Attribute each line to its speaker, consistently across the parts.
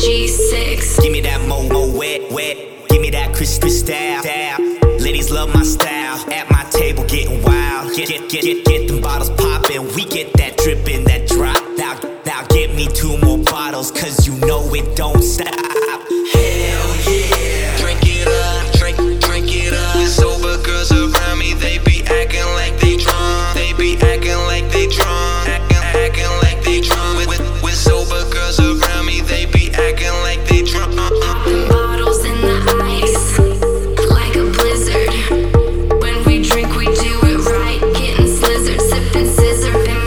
Speaker 1: G6.
Speaker 2: Give me that mo wet. Give me that crystal style. Ladies love my style. At my table getting wild. Get them bottles poppin'. We get that drippin', that drop. Now get me 2 more bottles, cause you know it don't stop. Hell yeah.
Speaker 3: Drink it up, drink it up. With sober girls around me, they be acting like they drunk. They be acting like they drunk. Acting like they drunk. With sober girls around me, they be acting like they drunk.
Speaker 1: Popping bottles in the ice, like a blizzard. When we drink, we do it right. Getting slizzard, sipping scissor. In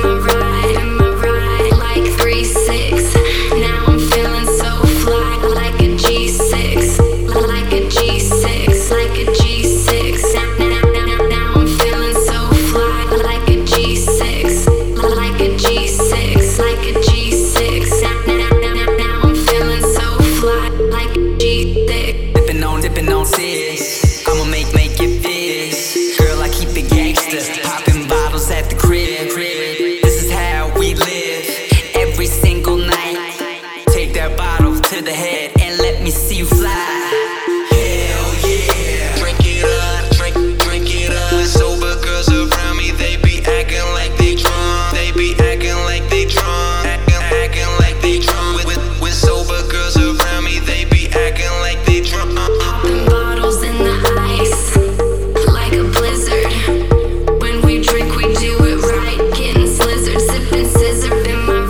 Speaker 1: my ride, like 3-6. Now I'm feeling so fly, like a G6, like a G6, like a G6. Now I'm feeling so fly, like a G6, like a G6, like a G6. Now I'm feeling so fly, like a G6.
Speaker 2: Dippin' on sis. I'ma make it fizz. Girl, I keep it gangsta. Poppin' bottles at the crib. This is how we live every single night. Take that bottle to the head and let me see you fly. Hell yeah.
Speaker 3: Drink it up, drink it up. With sober girls around me, they be acting like they drunk. They be acting like they drunk. Acting like they drunk. With sober girls around me, they be acting like they drunk.
Speaker 1: Popping bottles in the ice, like a blizzard. When we drink, we do it right. Getting slizzard, sipping scissor. In my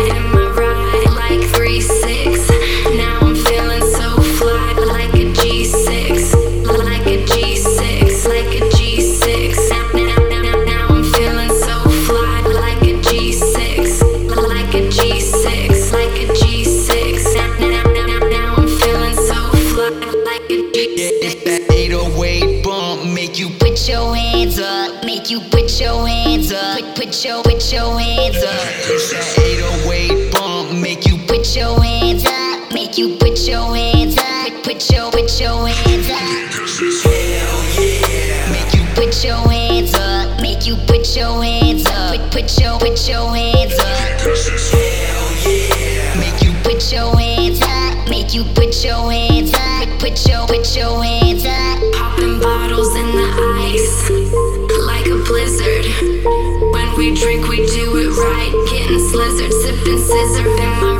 Speaker 1: ride, like 3-6. Now I'm feeling so fly, like a G6, like a G6, like a G6. Now I'm feeling so fly, like a G6, like a G6, like a G6. Now I'm feeling so fly, like a G6.
Speaker 2: That 808 bump make you
Speaker 4: Put your hands up, make you put your hands up. Put your hands up.
Speaker 2: It's that 808 bump make you
Speaker 4: Put your hands up, make you put your hands up. Put your hands up.
Speaker 2: hell yeah.
Speaker 4: Make you put your hands up, make you put your hands up. Put your hands up.
Speaker 2: Hell yeah.
Speaker 4: Make you put your hands up, make you put your hands up. Put your hands up.
Speaker 1: Popping bottles in the ice, like a blizzard. When we drink, we do it right. Getting slizzard, sipping scissor. In my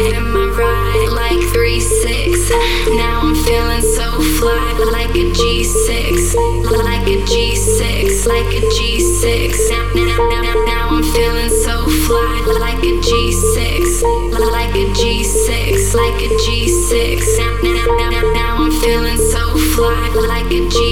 Speaker 1: ride, like 3-6. Now I'm feeling so fly, like a G6, like a G6, like a G6. Now I'm feeling so fly, like a G6, like a G6, like a G6. Now I'm feeling so fly, like a G6.